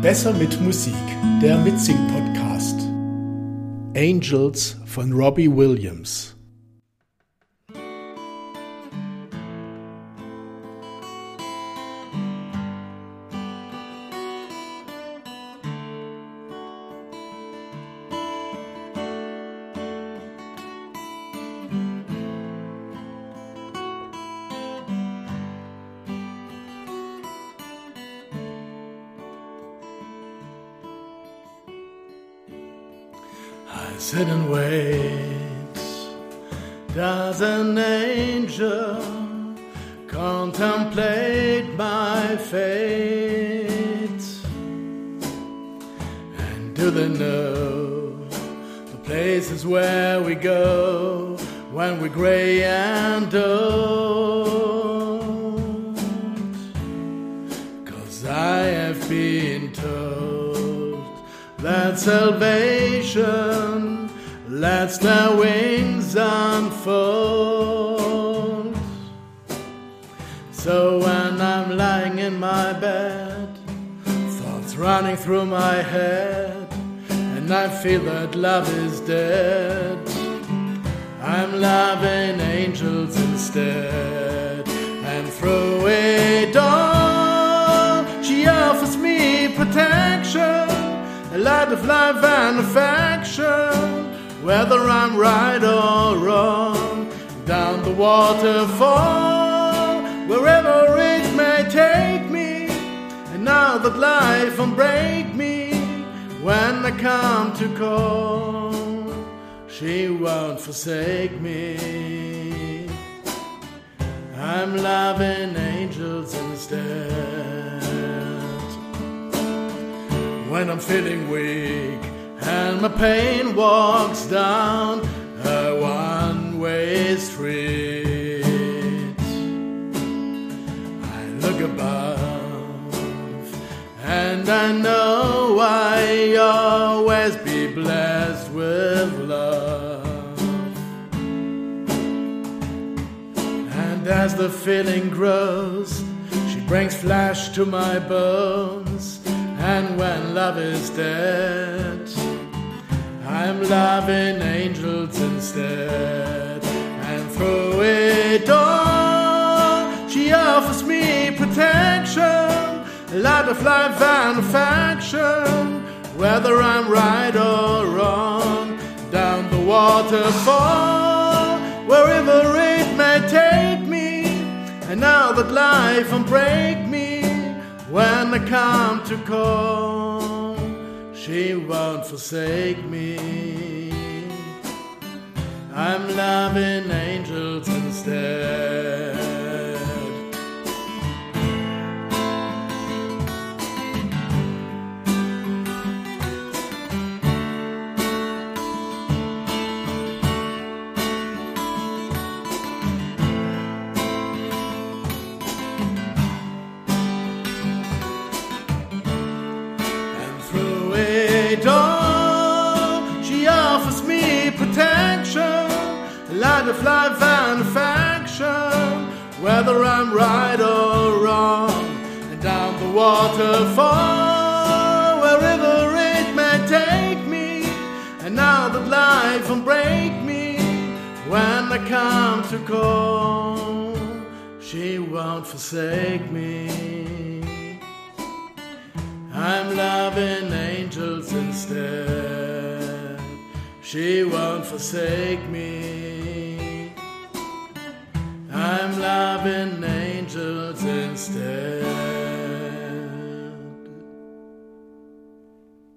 Besser mit Musik, der Mitsing-Podcast. Angels von Robbie Williams. I sit and wait. Does an angel contemplate my fate? And do they know the places where we go when we're gray and old? 'Cause I have been told that salvation lets their wings unfold. So when I'm lying in my bed, thoughts running through my head, and I feel that love is dead, I'm loving angels instead. And through it all, she offers me protection, a light of life and affection, whether I'm right or wrong, down the waterfall, wherever it may take me. And now that life won't break me, when I come to call, she won't forsake me. I'm loving angels instead. When I'm feeling weak and my pain walks down a one-way street, I look above and I know I always be blessed with love. And as the feeling grows, she brings flesh to my bones. And when love is dead, I'm loving angels instead. And through it all, she offers me protection, a light of life and affection, whether I'm right or wrong, down the waterfall, wherever it may take me. And now that life won't break me, when I come to call, she won't forsake me. I'm loving angels instead. She offers me protection, a light of life and affection, whether I'm right or wrong, and down the waterfall, wherever it may take me. And now that life won't break me, when I come to call, she won't forsake me. I'm loving angels instead. She won't forsake me. I'm loving angels instead.